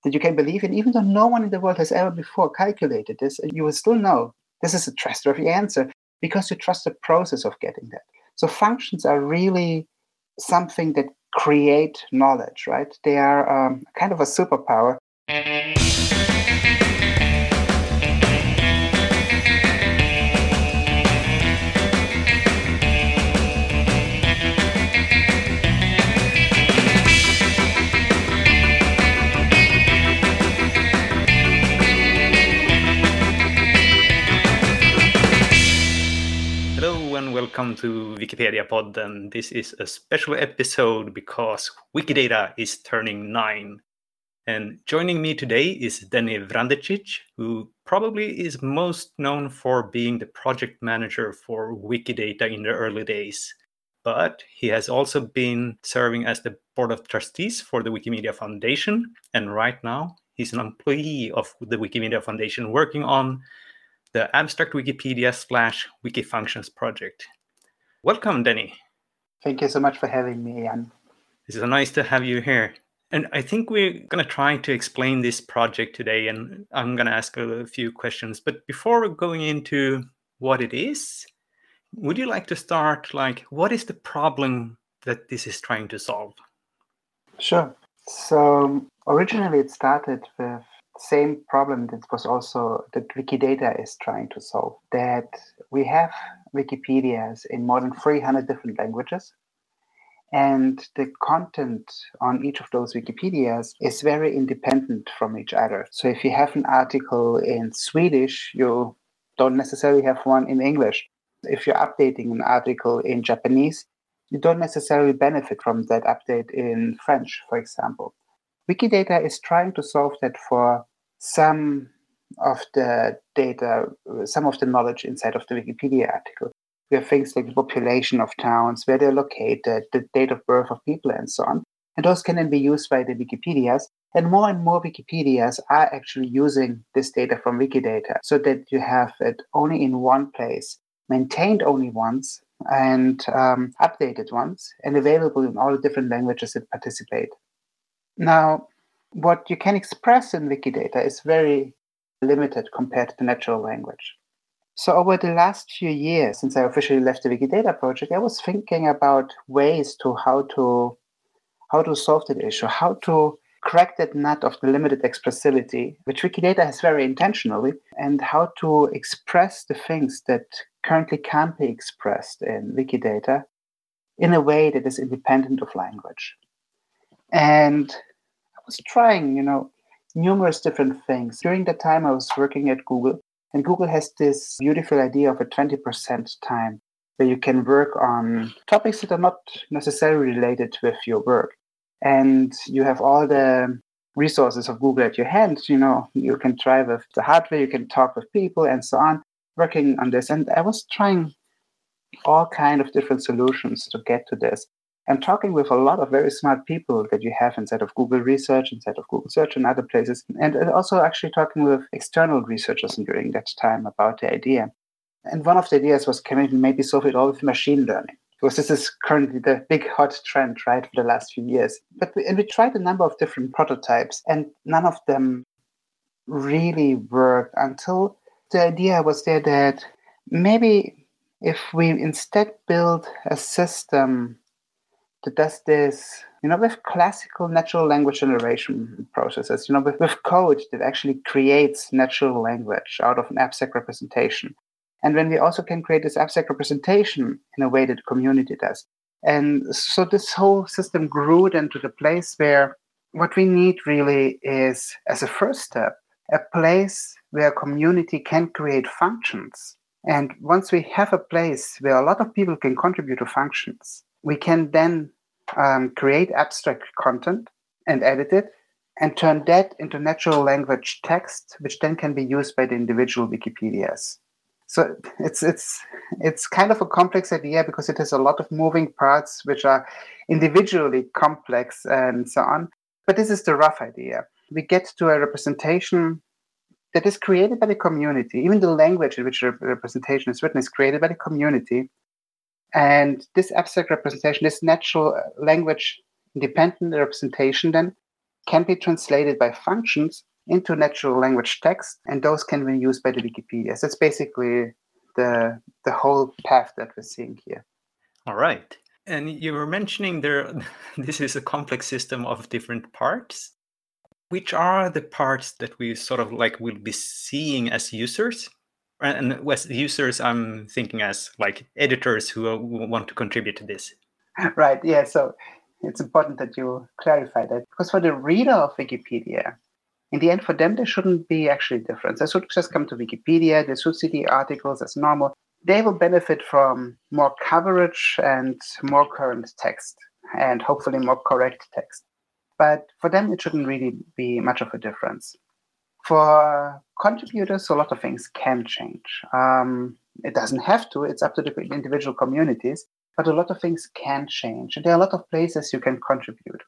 that you can believe in, even though no one in the world has ever before calculated this, you will still know this is a trustworthy answer because you trust the process of getting that. So functions are really something that create knowledge, right? They are kind of a superpower. Hello and welcome to Wikipedia Pod, and this is a special episode because Wikidata is turning 9. And joining me today is Denny Vrandecic, who probably is most known for being the project manager for Wikidata in the early days. But he has also been serving as the board of trustees for the Wikimedia Foundation, and right now he's an employee of the Wikimedia Foundation working on the Abstract Wikipedia / Wikifunctions project. Welcome, Denny. Thank you so much for having me, Jan. It's so nice to have you here. And I think we're going to try to explain this project today, and I'm going to ask a few questions. But before going into what it is, would you like to start, what is the problem that this is trying to solve? Sure. So originally it started with same problem that was also that Wikidata is trying to solve, that we have Wikipedias in more than 300 different languages, and the content on each of those Wikipedias is very independent from each other. So if you have an article in Swedish, you don't necessarily have one in English. If you're updating an article in Japanese, you don't necessarily benefit from that update in French, for example. Wikidata is trying to solve that for some of the data, some of the knowledge inside of the Wikipedia article. We have things like the population of towns, where they're located, the date of birth of people, and so on. And those can then be used by the Wikipedias. And more Wikipedias are actually using this data from Wikidata so that you have it only in one place, maintained only once, and updated once, and available in all the different languages that participate. Now, what you can express in Wikidata is very limited compared to the natural language. So over the last few years, since I officially left the Wikidata project, I was thinking about ways to how to solve that issue, how to crack that nut of the limited expressibility, which Wikidata has very intentionally, and how to express the things that currently can't be expressed in Wikidata in a way that is independent of language. And I was trying, numerous different things. During that time, I was working at Google, and Google has this beautiful idea of a 20% time where you can work on topics that are not necessarily related with your work. And you have all the resources of Google at your hand. You can try with the hardware, you can talk with people and so on, working on this. And I was trying all kinds of different solutions to get to this. And talking with a lot of very smart people that you have inside of Google Research, inside of Google Search and other places. And also actually talking with external researchers during that time about the idea. And one of the ideas was, can we maybe solve it all with machine learning? Because this is currently the big hot trend, right, for the last few years. But we tried a number of different prototypes, and none of them really worked until the idea was there that maybe if we instead build a system that does this, with classical natural language generation processes, with code that actually creates natural language out of an abstract representation. And when we also can create this abstract representation in a way that the community does. And so this whole system grew into the place where what we need really is, as a first step, a place where a community can create functions. And once we have a place where a lot of people can contribute to functions, we can then create abstract content and edit it and turn that into natural language text, which then can be used by the individual Wikipedias. So it's kind of a complex idea because it has a lot of moving parts which are individually complex and so on. But this is the rough idea. We get to a representation that is created by the community. Even the language in which the representation is written is created by the community. And this abstract representation, this natural language independent representation then can be translated by functions into natural language text, and those can be used by the Wikipedia. So that's basically the whole path that we're seeing here. All right. And you were mentioning there, this is a complex system of different parts. Which are the parts that we sort of like will be seeing as users? And as users, I'm thinking as like editors who want to contribute to this. Right, yeah, so it's important that you clarify that. Because for the reader of Wikipedia, in the end, for them, there shouldn't be actually a difference. They should just come to Wikipedia, they should see the articles as normal. They will benefit from more coverage and more current text, and hopefully more correct text. But for them, it shouldn't really be much of a difference. For contributors, a lot of things can change. It doesn't have to, it's up to the individual communities, but a lot of things can change. There are a lot of places you can contribute.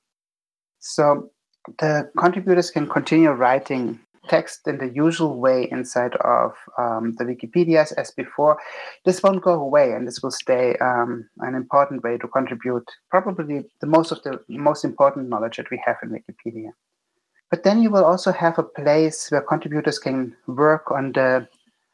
So the contributors can continue writing text in the usual way inside of the Wikipedias as before. This won't go away, and this will stay an important way to contribute probably the most important knowledge that we have in Wikipedia. But then you will also have a place where contributors can work on the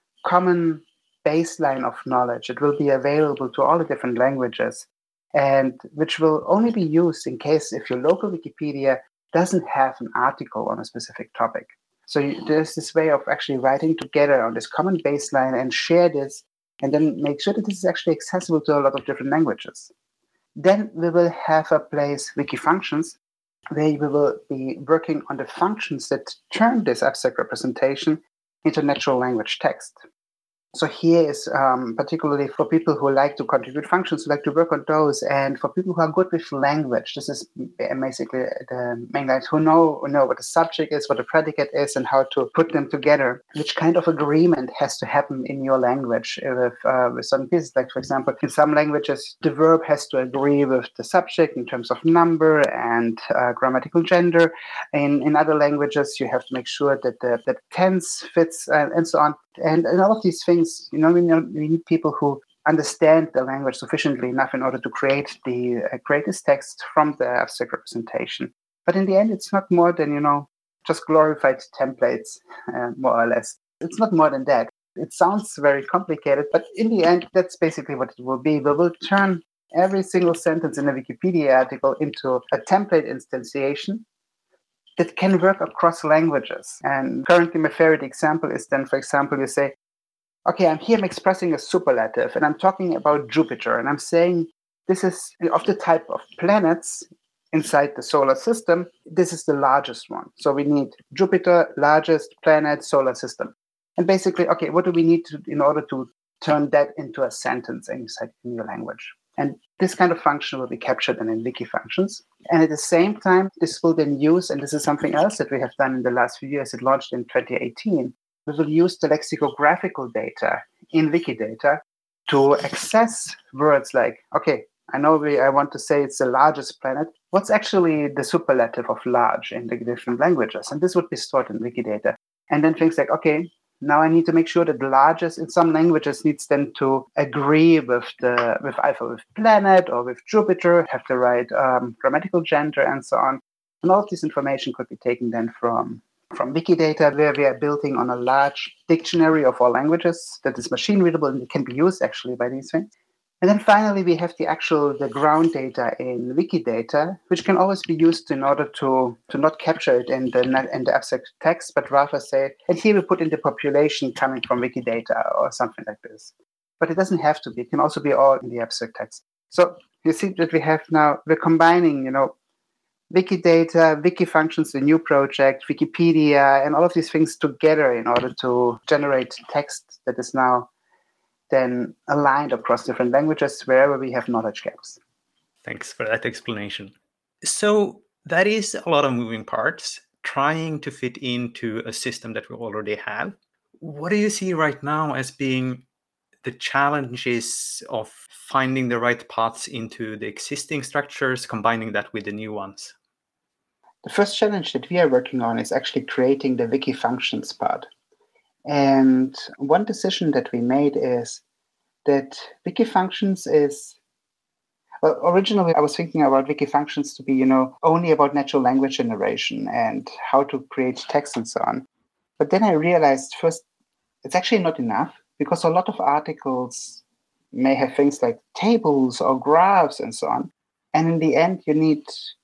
common baseline of knowledge. It will be available to all the different languages, and which will only be used in case if your local Wikipedia doesn't have an article on a specific topic. So there's this way of actually writing together on this common baseline and share this, and then make sure that this is actually accessible to a lot of different languages. Then we will have a place, Wikifunctions, where we will be working on the functions that turn this abstract representation into natural language text. So here is particularly for people who like to contribute functions, who like to work on those, and for people who are good with language. This is basically the main guys who know what the subject is, what the predicate is, and how to put them together. Which kind of agreement has to happen in your language with certain pieces? Like, for example, in some languages, the verb has to agree with the subject in terms of number and grammatical gender. In other languages, you have to make sure that the tense fits and so on. And all of these things, we need people who understand the language sufficiently enough in order to create this text from the abstract representation. But in the end, it's not more than, just glorified templates, more or less. It's not more than that. It sounds very complicated, but in the end, that's basically what it will be. We will turn every single sentence in a Wikipedia article into a template instantiation that can work across languages. And currently my favorite example is then, for example, you say, okay, I'm expressing a superlative and I'm talking about Jupiter and I'm saying this is of the type of planets inside the solar system, this is the largest one. So we need Jupiter, largest planet, solar system. And basically, okay, what do we need to in order to turn that into a sentence inside in your language? And this kind of function will be captured in Wikifunctions. And at the same time, this will then use, and this is something else that we have done in the last few years, it launched in 2018, we will use the lexicographical data in Wikidata to access words like, okay, I want to say it's the largest planet. What's actually the superlative of large in the different languages? And this would be stored in Wikidata. And then things like, okay, now I need to make sure that the largest in some languages needs then to agree with either with planet or with Jupiter, have the right grammatical gender and so on. And all of this information could be taken then from Wikidata, where we are building on a large dictionary of all languages that is machine readable and can be used actually by these things. And then finally, we have the ground data in Wikidata, which can always be used in order to not capture it in the abstract text, but rather say, and here we put in the population coming from Wikidata or something like this. But it doesn't have to be. It can also be all in the abstract text. So you see that we're combining, Wikidata, Wikifunctions, the new project, Wikipedia, and all of these things together in order to generate text that is now then aligned across different languages wherever we have knowledge gaps. Thanks for that explanation. So that is a lot of moving parts, trying to fit into a system that we already have. What do you see right now as being the challenges of finding the right paths into the existing structures, combining that with the new ones? The first challenge that we are working on is actually creating the Wikifunctions part. And one decision that we made is that Wikifunctions is, Well, originally, I was thinking about Wikifunctions to be, only about natural language generation and how to create text and so on. But then I realized first, it's actually not enough because a lot of articles may have things like tables or graphs and so on. And in the end, you need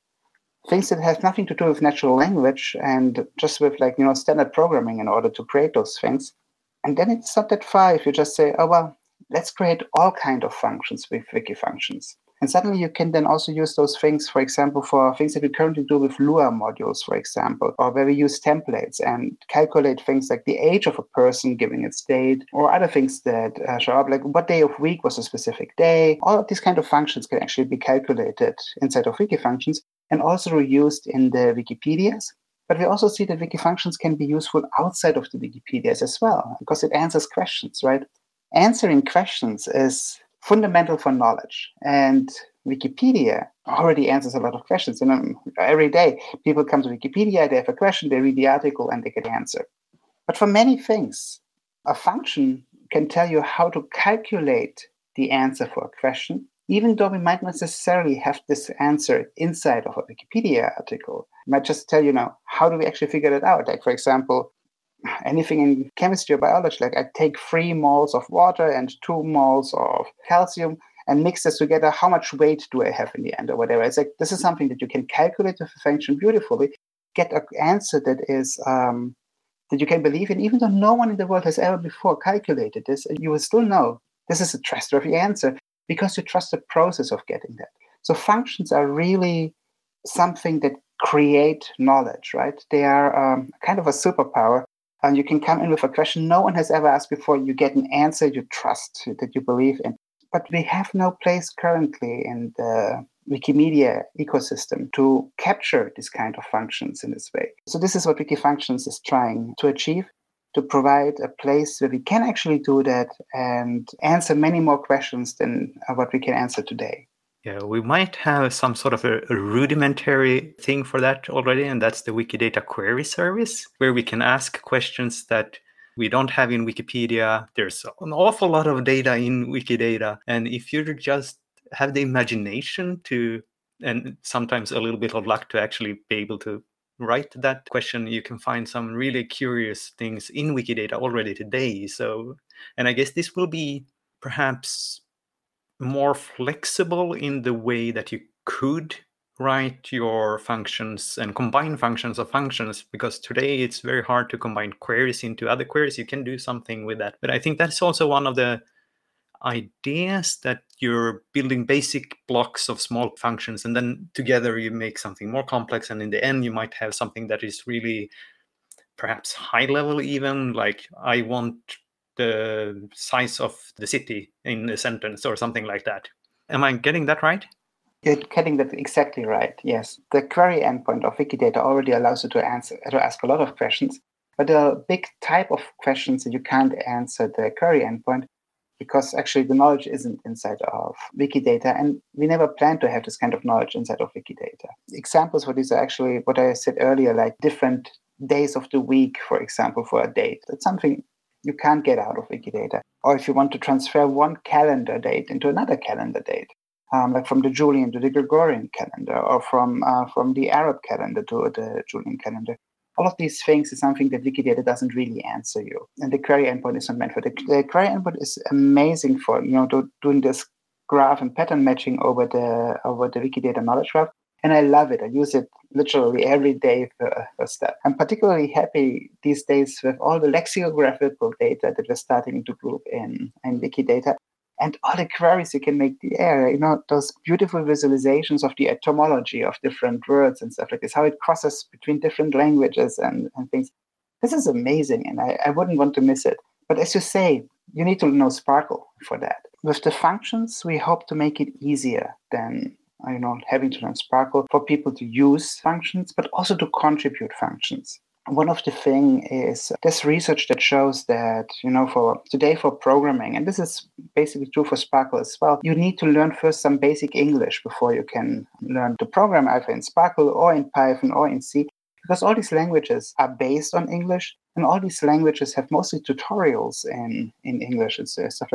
things that have nothing to do with natural language and just with standard programming in order to create those things. And then it's not that far if you just say, oh, well, let's create all kind of functions with Wikifunctions. And suddenly you can then also use those things, for example, for things that we currently do with Lua modules, for example, or where we use templates and calculate things like the age of a person giving its date, or other things that show up, like what day of week was a specific day. All of these kind of functions can actually be calculated inside of Wikifunctions and also reused in the Wikipedias. But we also see that Wikifunctions can be useful outside of the Wikipedias as well, because it answers questions, right? Answering questions is fundamental for knowledge. And Wikipedia already answers a lot of questions. Every day, people come to Wikipedia, they have a question, they read the article, and they get the answer. But for many things, a function can tell you how to calculate the answer for a question, even though we might not necessarily have this answer inside of a Wikipedia article. It might just tell you how do we actually figure that out? Like, for example, anything in chemistry or biology, like I take 3 moles of water and 2 moles of calcium and mix this together. How much weight do I have in the end or whatever? It's like, this is something that you can calculate with a function beautifully, get an answer that is that you can believe in, even though no one in the world has ever before calculated this, you will still know this is a trustworthy answer because you trust the process of getting that. So functions are really something that create knowledge, right? They are kind of a superpower. And you can come in with a question no one has ever asked before. You get an answer you trust, that you believe in. But we have no place currently in the Wikimedia ecosystem to capture this kind of functions in this way. So this is what Wikifunctions is trying to achieve, to provide a place where we can actually do that and answer many more questions than what we can answer today. Yeah, we might have some sort of a rudimentary thing for that already, and that's the Wikidata query service, where we can ask questions that we don't have in Wikipedia. There's an awful lot of data in Wikidata, and if you just have the imagination to, and sometimes a little bit of luck to actually be able to write that question, you can find some really curious things in Wikidata already today. So, and I guess this will be perhaps more flexible in the way that you could write your functions and combine functions of functions, because today it's very hard to combine queries into other queries. You can do something with that, but I think that's also one of the ideas, that you're building basic blocks of small functions and then together you make something more complex, and in the end you might have something that is really perhaps high level, even like I want the size of the city in a sentence or something like that. Am I getting that right? You're getting that exactly right, yes. The query endpoint of Wikidata already allows you to ask a lot of questions, but there are a big type of questions that you can't answer the query endpoint because actually the knowledge isn't inside of Wikidata, and we never plan to have this kind of knowledge inside of Wikidata. Examples for these are actually what I said earlier, like different days of the week, for example, for a date. That's something you can't get out of Wikidata. Or if you want to transfer one calendar date into another calendar date, like from the Julian to the Gregorian calendar, or from the Arab calendar to the Julian calendar. All of these things is something that Wikidata doesn't really answer you. And the query endpoint is not meant for the query endpoint is amazing for doing this graph and pattern matching over the Wikidata knowledge graph. And I love it. I use it literally every day for step. I'm particularly happy these days with all the lexicographical data that we're starting to group in Wikidata. And all the queries you can make there, those beautiful visualizations of the etymology of different words and stuff like this, how it crosses between different languages and things. This is amazing, and I wouldn't want to miss it. But as you say, you need to know Sparkle for that. With the functions, we hope to make it easier than having to learn Sparkle for people to use functions, but also to contribute functions. One of the things is there's research that shows that, for programming, and this is basically true for Sparkle as well, you need to learn first some basic English before you can learn to program either in Sparkle or in Python or in C, because all these languages are based on English, and all these languages have mostly tutorials in English and stuff like this.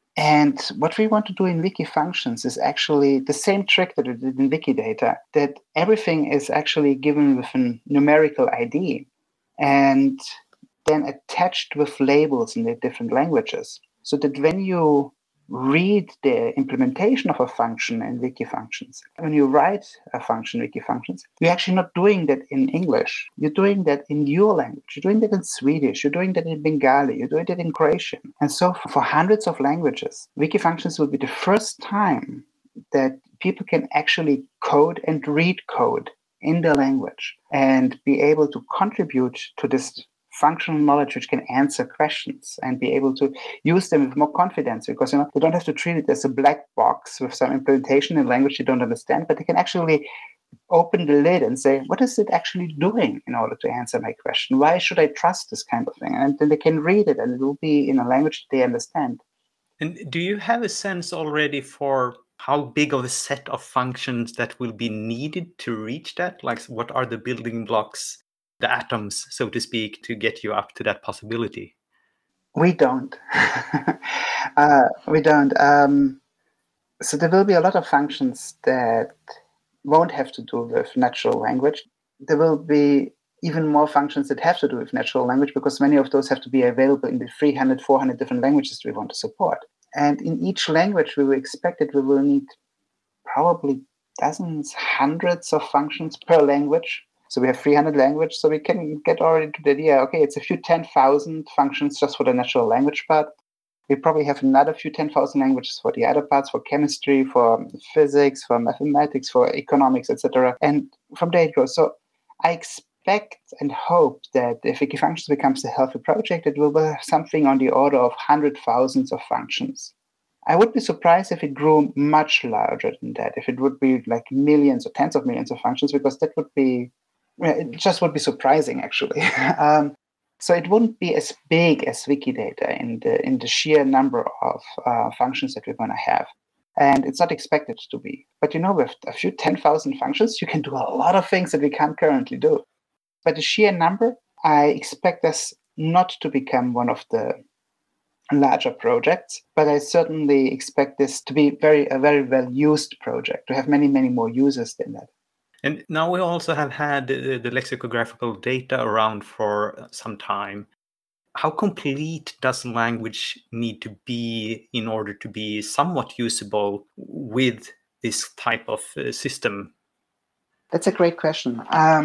And what we want to do in Wikifunctions is actually the same trick that we did in Wikidata, that everything is actually given with a numerical ID and then attached with labels in the different languages. So that when you read the implementation of a function in Wikifunctions, when you write a function in Wikifunctions, you're actually not doing that in English. You're doing that in your language. You're doing that in Swedish. You're doing that in Bengali. You're doing that in Croatian. And so for hundreds of languages, Wikifunctions will be the first time that people can actually code and read code in the language and be able to contribute to this functional knowledge which can answer questions and be able to use them with more confidence, because they don't have to treat it as a black box with some implementation in language you don't understand, but they can actually open the lid and say, what is it actually doing in order to answer my question? Why should I trust this kind of thing? And then they can read it and it will be in a language they understand. And do you have a sense already for how big of a set of functions that will be needed to reach that? Like, what are the building blocks, the atoms, so to speak, to get you up to that possibility? We don't. We don't. So there will be a lot of functions that won't have to do with natural language. There will be even more functions that have to do with natural language, because many of those have to be available in the 300, 400 different languages we want to support. And in each language, we will expect that we will need probably dozens, hundreds of functions per language. So we have 300 languages, so we can get already to the idea, okay, it's a few 10,000 functions just for the natural language part. We probably have another few 10,000 languages for the other parts, for chemistry, for physics, for mathematics, for economics, etc. And from there it goes. So I expect and hope that if Wikifunctions becomes a healthy project, it will have something on the order of 100,000 of functions. I would be surprised if it grew much larger than that, if it would be like millions or tens of millions of functions, because that would be, it just would be surprising, actually. So it wouldn't be as big as Wikidata in the sheer number of functions that we're going to have. And it's not expected to be. But with a few 10,000 functions, you can do a lot of things that we can't currently do. But the sheer number, I expect us not to become one of the larger projects, but I certainly expect this to be a very well-used project, to have many, many more users than that. And now we also have had the lexicographical data around for some time. How complete does language need to be in order to be somewhat usable with this type of system? That's a great question.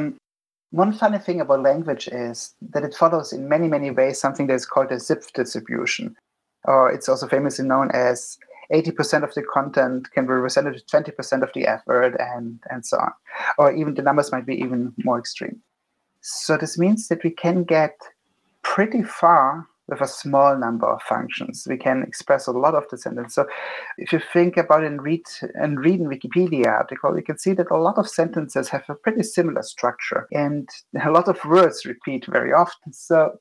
One funny thing about language is that it follows in many, many ways something that is called a Zipf distribution. Or it's also famously known as 80% of the content can be represented with 20% of the effort, and so on. Or even the numbers might be even more extreme. So this means that we can get pretty far with a small number of functions. We can express a lot of the sentence. So if you think about it and read in Wikipedia article, you can see that a lot of sentences have a pretty similar structure, and a lot of words repeat very often. So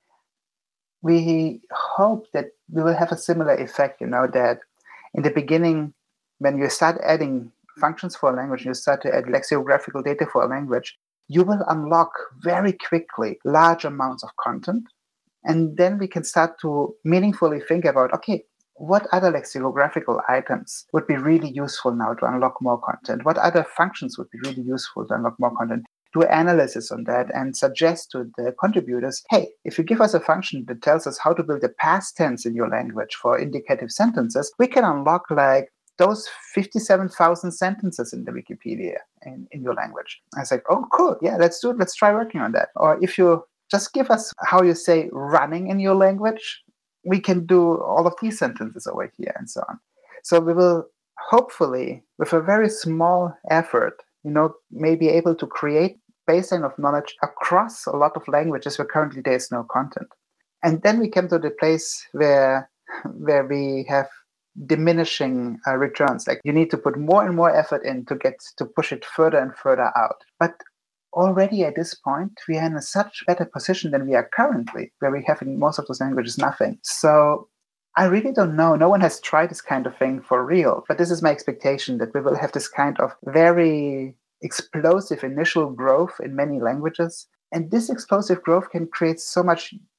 we hope that we will have a similar effect, that in the beginning, when you start adding functions for a language, you start to add lexicographical data for a language, you will unlock very quickly large amounts of content. And then we can start to meaningfully think about, okay, what other lexicographical items would be really useful now to unlock more content? What other functions would be really useful to unlock more content? Do analysis on that and suggest to the contributors, hey, if you give us a function that tells us how to build a past tense in your language for indicative sentences, we can unlock like those 57,000 sentences in the Wikipedia in your language. I was like, oh, cool. Yeah, let's do it. Let's try working on that. Or if you just give us how you say running in your language, we can do all of these sentences over here and so on. So we will hopefully, with a very small effort, may be able to create baseline of knowledge across a lot of languages where currently there is no content. And then we come to the place where we have diminishing returns. Like you need to put more and more effort in to push it further and further out. But already at this point, we are in a such better position than we are currently, where we have in most of those languages nothing. So I really don't know. No one has tried this kind of thing for real. But this is my expectation, that we will have this kind of very explosive initial growth in many languages. And this explosive growth can create so much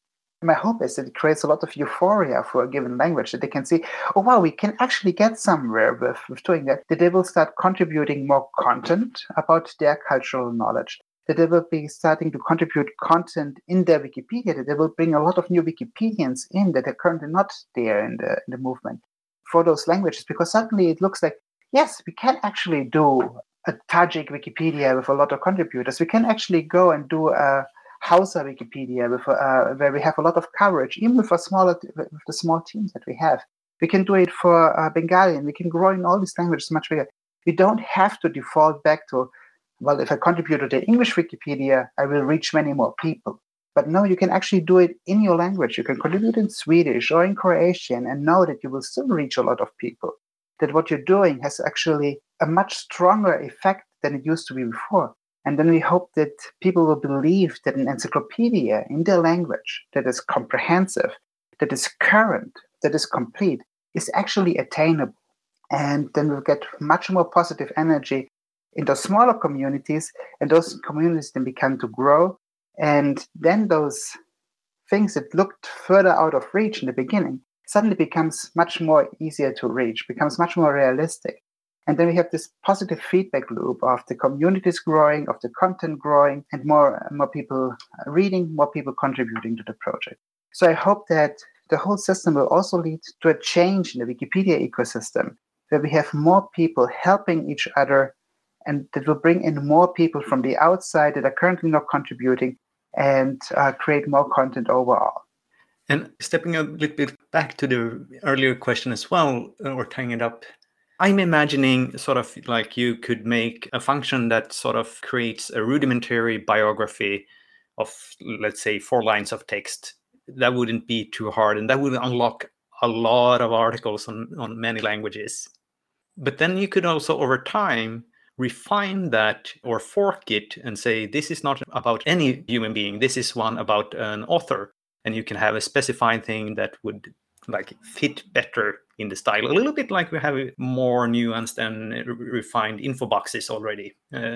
my hope is that it creates a lot of euphoria for a given language, that they can see, oh, wow, we can actually get somewhere with doing that, that they will start contributing more content about their cultural knowledge, that they will be starting to contribute content in their Wikipedia, that they will bring a lot of new Wikipedians in that are currently not there in the movement for those languages, because suddenly it looks like, yes, we can actually do a Tajik Wikipedia with a lot of contributors. We can actually go and do a Hausa Wikipedia with where we have a lot of coverage, even with the small teams that we have. We can do it for Bengali, and we can grow in all these languages much bigger. We don't have to default back to, well, if I contribute to the English Wikipedia, I will reach many more people. But no, you can actually do it in your language. You can contribute in Swedish or in Croatian and know that you will still reach a lot of people. That what you're doing has actually a much stronger effect than it used to be before. And then we hope that people will believe that an encyclopedia in their language that is comprehensive, that is current, that is complete, is actually attainable. And then we'll get much more positive energy in those smaller communities, and those communities then begin to grow. And then those things that looked further out of reach in the beginning suddenly becomes much more easier to reach, becomes much more realistic. And then we have this positive feedback loop of the communities growing, of the content growing, and more people reading, more people contributing to the project. So I hope that the whole system will also lead to a change in the Wikipedia ecosystem, where we have more people helping each other, and that will bring in more people from the outside that are currently not contributing, and create more content overall. And stepping a little bit back to the earlier question as well, or tying it up, I'm imagining sort of like you could make a function that sort of creates a rudimentary biography of, let's say, 4 lines of text. That wouldn't be too hard, and that would unlock a lot of articles on many languages. But then you could also, over time, refine that or fork it and say, this is not about any human being. This is one about an author. And you can have a specified thing that would like fit better in the style, a little bit like we have more nuanced and refined info boxes already.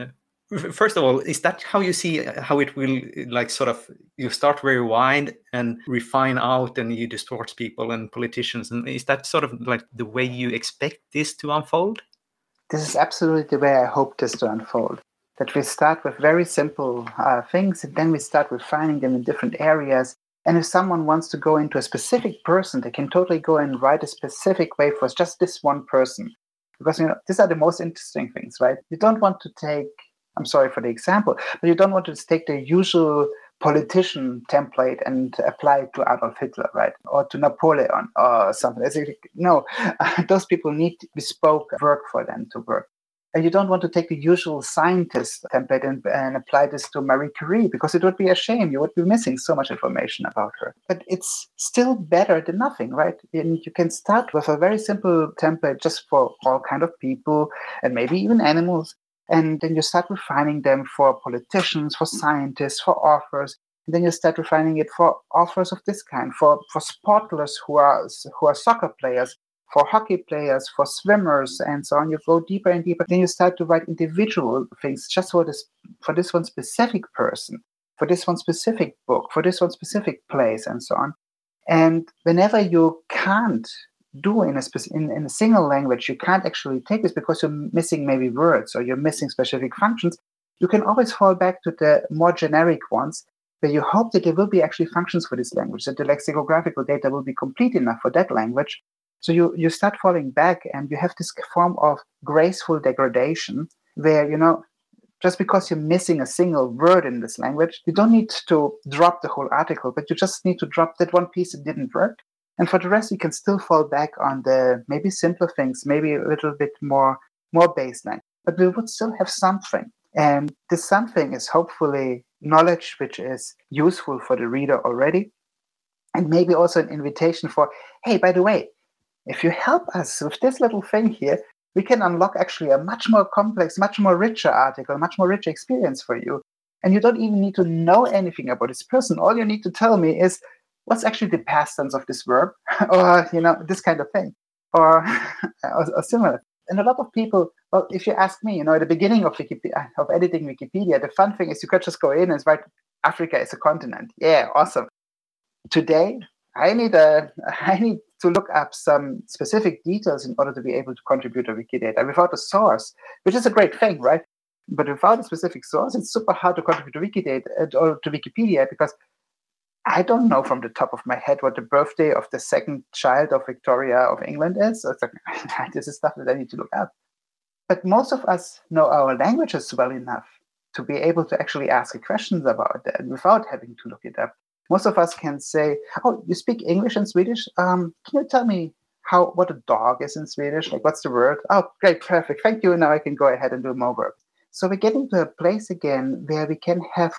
First of all, is that how you see how it will, like, sort of, you start very wide and refine out, and you distort people and politicians, and is that sort of like the way you expect this to unfold? This is absolutely the way I hope this to unfold. That we start with very simple things, and then we start refining them in different areas. And if someone wants to go into a specific person, they can totally go and write a specific way for just this one person. Because, these are the most interesting things, right? You don't want to take, I'm sorry for the example, but you don't want to take the usual politician template and apply it to Adolf Hitler, right? Or to Napoleon or something. No, those people need bespoke work for them to work. And you don't want to take the usual scientist template and apply this to Marie Curie, because it would be a shame. You would be missing so much information about her. But it's still better than nothing, right? And you can start with a very simple template just for all kind of people and maybe even animals. And then you start refining them for politicians, for scientists, for authors. And then you start refining it for authors of this kind, for sportlers who are soccer players, for hockey players, for swimmers, and so on. You go deeper and deeper. Then you start to write individual things just for this one specific person, for this one specific book, for this one specific place, and so on. And whenever you can't do in a single language, you can't actually take this because you're missing maybe words or you're missing specific functions, you can always fall back to the more generic ones, where you hope that there will be actually functions for this language, that the lexicographical data will be complete enough for that language. So you start falling back, and you have this form of graceful degradation where, just because you're missing a single word in this language, you don't need to drop the whole article, but you just need to drop that one piece that didn't work. And for the rest, you can still fall back on the maybe simpler things, maybe a little bit more baseline. But we would still have something. And this something is hopefully knowledge which is useful for the reader already. And maybe also an invitation for, hey, by the way, if you help us with this little thing here, we can unlock actually a much more complex, much more richer article, much more richer experience for you. And you don't even need to know anything about this person. All you need to tell me is, what's actually the past tense of this verb? Or, this kind of thing. Or similar. And a lot of people, well, if you ask me, at the beginning of editing Wikipedia, the fun thing is you could just go in and write, Africa is a continent. Yeah, awesome. today I need to look up some specific details in order to be able to contribute to Wikidata without a source, which is a great thing, right? But without a specific source, it's super hard to contribute to Wikidata or to Wikipedia, because I don't know from the top of my head what the birthday of the second child of Victoria of England is. So it's like, this is stuff that I need to look up. But most of us know our languages well enough to be able to actually ask questions about that without having to look it up. Most of us can say, "Oh, you speak English and Swedish? Can you tell me what a dog is in Swedish? Like, what's the word? Oh, great, perfect. Thank you. Now I can go ahead and do more work." So we're getting to a place again where we can have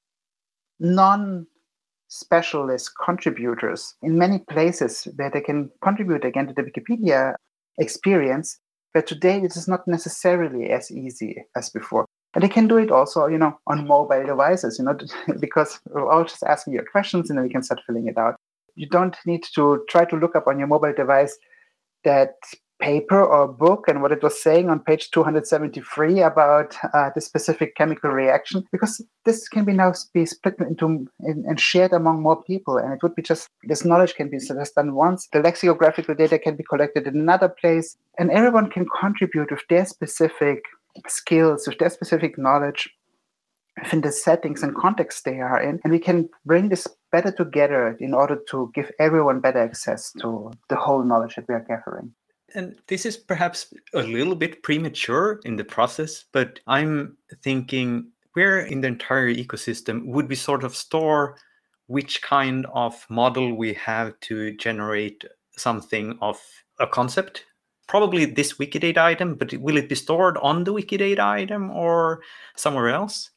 non-specialist contributors in many places where they can contribute again to the Wikipedia experience. But today it is not necessarily as easy as before. And they can do it also, on mobile devices, because we're all just asking your questions and then we can start filling it out. You don't need to try to look up on your mobile device that paper or book and what it was saying on page 273 about the specific chemical reaction, because this can now be split into and shared among more people. And it would be just, this knowledge can be just done once. The lexicographical data can be collected in another place, and everyone can contribute with their specific skills, with their specific knowledge within the settings and context they are in. And we can bring this better together in order to give everyone better access to the whole knowledge that we are gathering. And this is perhaps a little bit premature in the process, but I'm thinking where in the entire ecosystem would we sort of store which kind of model we have to generate something of a concept? Probably this Wikidata item, but will it be stored on the Wikidata item or somewhere else?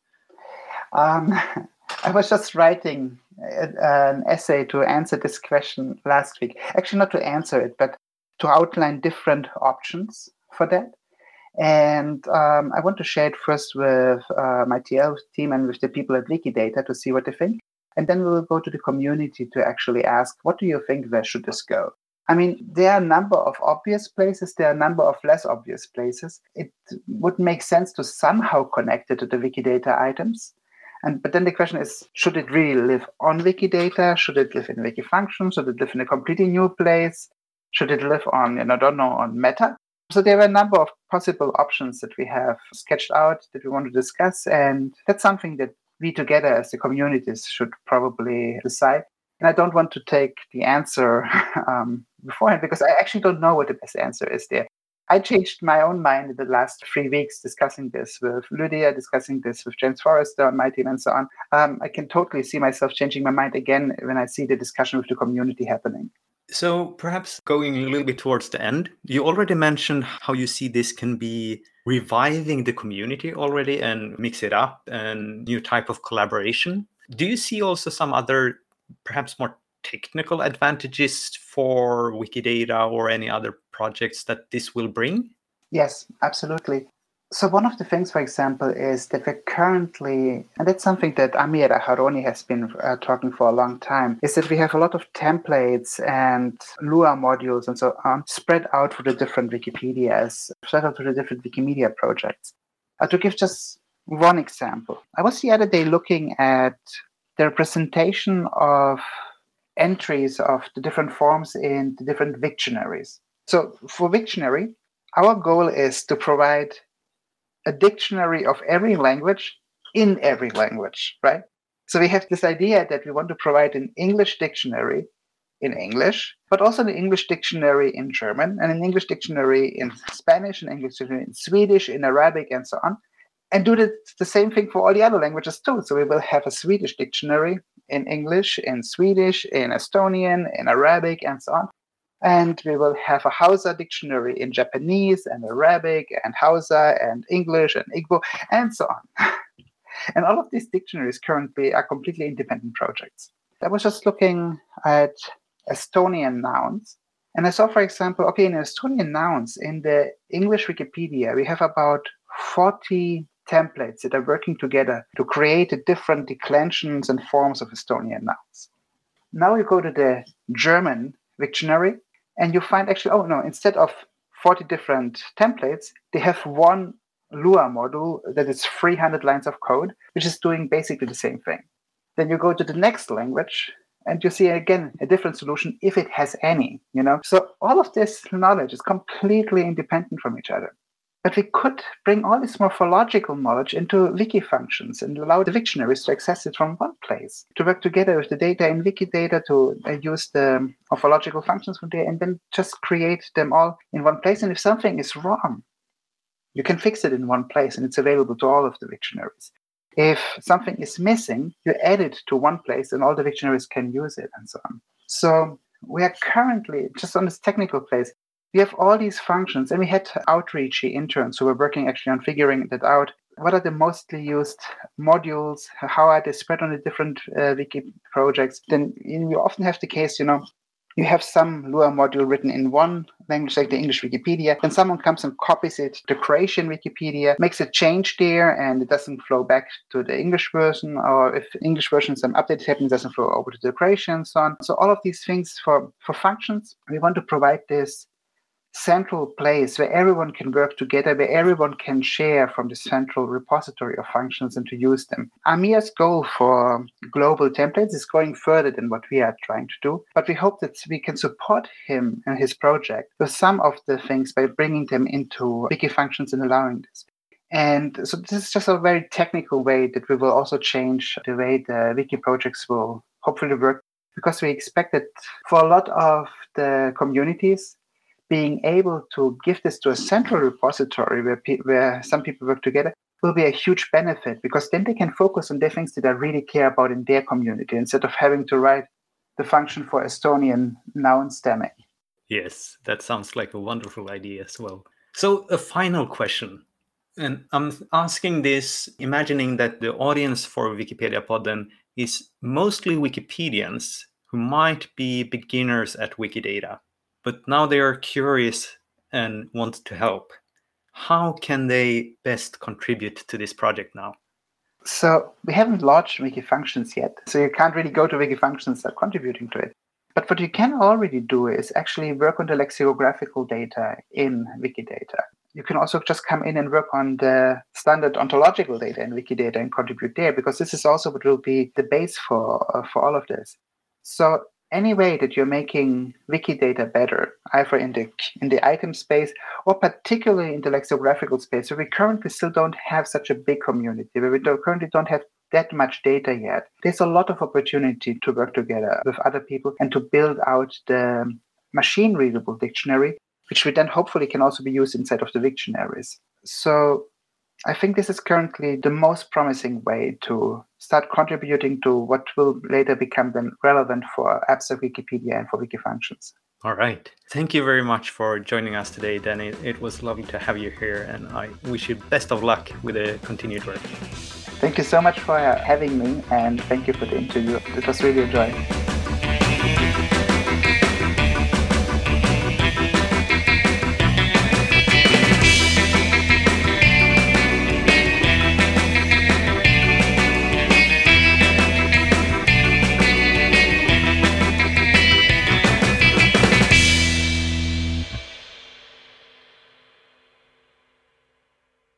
I was just writing an essay to answer this question last week. Actually, not to answer it, but to outline different options for that. And I want to share it first with my TL team and with the people at Wikidata to see what they think. And then we will go to the community to actually ask, what do you think, where should this go? I mean, there are a number of obvious places, there are a number of less obvious places. It would make sense to somehow connect it to the Wikidata items. But then the question is, should it really live on Wikidata? Should it live in Wikifunctions? Should it live in a completely new place? Should it live on, on Meta? So there are a number of possible options that we have sketched out that we want to discuss. And that's something that we together as the communities should probably decide. And I don't want to take the answer beforehand, because I actually don't know what the best answer is there. I changed my own mind in the last 3 weeks discussing this with Lydia, discussing this with James Forrester on my team and so on. I can totally see myself changing my mind again when I see the discussion with the community happening. So perhaps going a little bit towards the end, you already mentioned how you see this can be reviving the community already and mix it up and new type of collaboration. Do you see also some other perhaps more technical advantages for Wikidata or any other projects that this will bring? Yes, absolutely. So one of the things, for example, is that we're currently, and that's something that Amir Aharoni has been talking for a long time, is that we have a lot of templates and Lua modules and so on spread out through the different Wikipedias, spread out through the different Wikimedia projects. To give just one example, I was the other day looking at the representation of entries of the different forms in the different Wiktionaries. So for Wiktionary, our goal is to provide a dictionary of every language in every language, right? So we have this idea that we want to provide an English dictionary in English, but also an English dictionary in German, and an English dictionary in Spanish, an English dictionary in Swedish, in Arabic, and so on, and do the same thing for all the other languages too. So we will have a Swedish dictionary in English, in Swedish, in Estonian, in Arabic, and so on. And we will have a Hausa dictionary in Japanese and Arabic and Hausa and English and Igbo and so on. And all of these dictionaries currently are completely independent projects. I was just looking at Estonian nouns. And I saw, for example, in Estonian nouns, in the English Wikipedia, we have about 40 templates that are working together to create the different declensions and forms of Estonian nouns. Now you go to the German Wiktionary, and you find actually, instead of 40 different templates, they have one Lua module that is 300 lines of code, which is doing basically the same thing. Then you go to the next language, And you see again a different solution if it has any, So all of this knowledge is completely independent from each other. But we could bring all this morphological knowledge into wiki functions and allow the dictionaries to access it from one place, to work together with the data in Wikidata, to use the morphological functions from there, and then just create them all in one place. And if something is wrong, you can fix it in one place, and it's available to all of the dictionaries. If something is missing, you add it to one place, and all the dictionaries can use it, and so on. So we are currently just on this technical place. We have all these functions, and we had outreachy interns who were working actually on figuring that out. What are the mostly used modules? How are they spread on the different wiki projects? Then you often have the case, you have some Lua module written in one language, like the English Wikipedia, then someone comes and copies it to Croatian Wikipedia, makes a change there, and it doesn't flow back to the English version, or if English version some update happens, it doesn't flow over to the Croatian and so on. So all of these things for functions, we want to provide this central place where everyone can work together, where everyone can share from the central repository of functions and to use them. Amir's goal for global templates is going further than what we are trying to do, but we hope that we can support him and his project with some of the things by bringing them into wiki functions and allowing this. And so this is just a very technical way that we will also change the way the wiki projects will hopefully work, because we expect that for a lot of the communities, being able to give this to a central repository where some people work together will be a huge benefit, because then they can focus on the things that they really care about in their community instead of having to write the function for Estonian noun stemming. Yes, that sounds like a wonderful idea as well. So a final question, and I'm asking this imagining that the audience for Wikipedia Podden is mostly Wikipedians who might be beginners at Wikidata, but now they are curious and want to help. How can they best contribute to this project now? So we haven't launched Wiki Functions yet, so you can't really go to Wiki Functions and start contributing to it. But what you can already do is actually work on the lexicographical data in Wikidata. You can also just come in and work on the standard ontological data in Wikidata and contribute there, because this is also what will be the base for all of this. So any way that you're making Wikidata better, either in the item space or particularly in the lexicographical space, where we currently still don't have such a big community, where we currently don't have that much data yet, there's a lot of opportunity to work together with other people and to build out the machine-readable dictionary, which we then hopefully can also be used inside of the dictionaries. So I think this is currently the most promising way to start contributing to what will later become then relevant for apps of Wikipedia and for Wiki Functions. All right. Thank you very much for joining us today, Danny. It was lovely to have you here, and I wish you best of luck with the continued work. Thank you so much for having me, and thank you for the interview. It was really enjoyable.